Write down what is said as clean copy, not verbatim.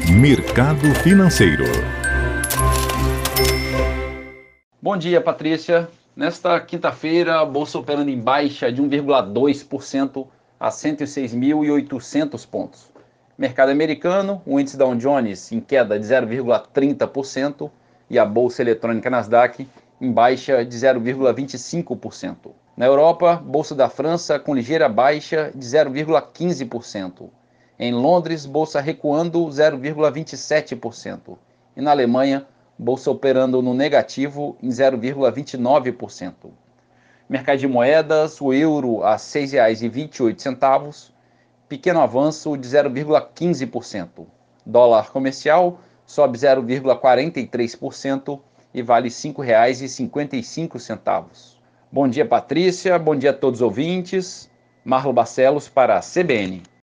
Mercado Financeiro. Bom dia, Patrícia. Nesta quinta-feira, a bolsa operando em baixa de 1,2% a 106.800 pontos. Mercado americano, o índice Dow Jones em queda de 0,30% e a bolsa eletrônica Nasdaq em baixa de 0,25%. Na Europa, bolsa da França com ligeira baixa de 0,15%. Em Londres, bolsa recuando 0,27%. E na Alemanha, bolsa operando no negativo em 0,29%. Mercado de moedas, o euro a R$ 6,28, pequeno avanço de 0,15%. Dólar comercial sobe 0,43% e vale R$ 5,55. Bom dia, Patrícia. Bom dia a todos os ouvintes. Marlo Barcelos para a CBN.